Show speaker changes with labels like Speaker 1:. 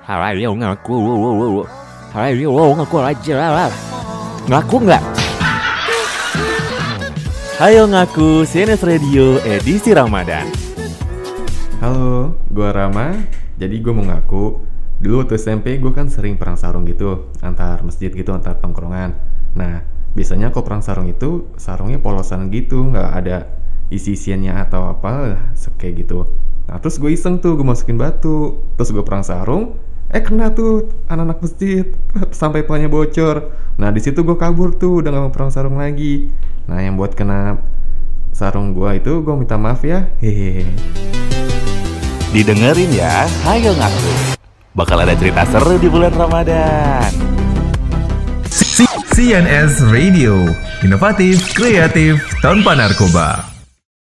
Speaker 1: Ngaku nggak? Hayo ngaku CNS Radio edisi Ramadan.
Speaker 2: Halo, gue Rama. Jadi gue mau ngaku, dulu waktu SMP gue kan sering perang sarung gitu, antar masjid gitu, antar tongkrongan. Nah, biasanya kalau perang sarung itu, sarungnya polosan gitu, nggak ada isi-isiannya atau apa, kayak gitu. Nah, terus gue iseng tuh, gue masukin batu. Terus gue perang sarung, kena tuh anak-anak masjid, sampai pelanya bocor. Nah, di situ gue kabur tuh, udah gak mau perang sarung lagi. Nah, yang buat kena sarung gue itu, gue minta maaf ya. Hehehe.
Speaker 1: Didengerin ya, hayo ngaku. Bakal ada cerita seru di bulan Ramadan.
Speaker 3: CNS Radio, inovatif, kreatif, tanpa narkoba.